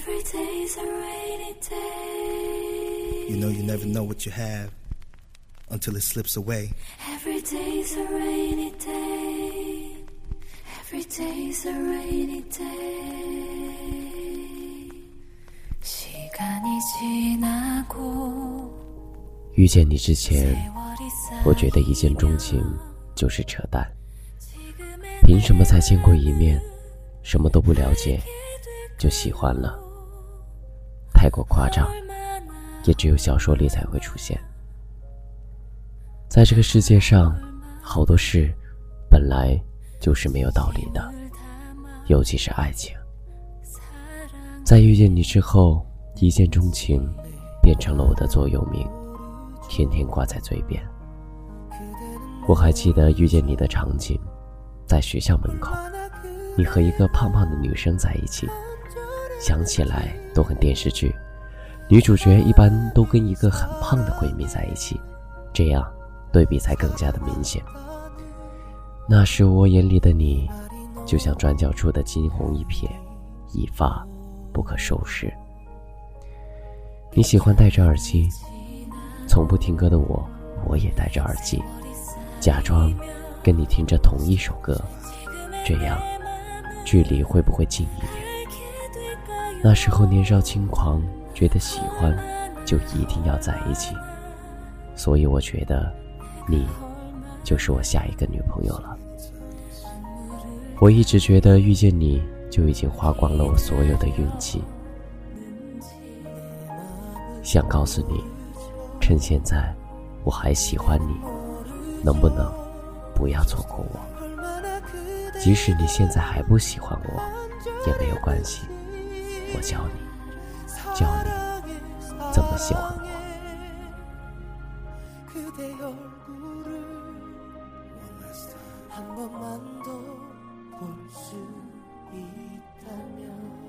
Every day's a rainy day. You know you never know what you have until it slips away. Every day's a rainy day. Every day's a rainy day. 시간이 지나고 遇见你之前，我觉得一见钟情就是扯淡。凭什么才见过一面，什么都不了解，就喜欢了？太过夸张，也只有小说里才会出现。在这个世界上，好多事本来就是没有道理的，尤其是爱情。在遇见你之后，一见钟情变成了我的座右铭，天天挂在嘴边。我还记得遇见你的场景，在学校门口，你和一个胖胖的女生在一起，想起来都很电视剧，女主角一般都跟一个很胖的闺蜜在一起，这样对比才更加的明显。那时我眼里的你，就像转角处的惊鸿一瞥，一发不可收拾。你喜欢戴着耳机，从不听歌的我也戴着耳机，假装跟你听着同一首歌，这样距离会不会近一点？那时候年少轻狂，觉得喜欢就一定要在一起，所以我觉得你就是我下一个女朋友了。我一直觉得遇见你就已经花光了我所有的运气，想告诉你，趁现在我还喜欢你，能不能不要错过我？即使你现在还不喜欢我也没有关系，我教你怎么喜欢我。 한 번만 더 볼 수 있다면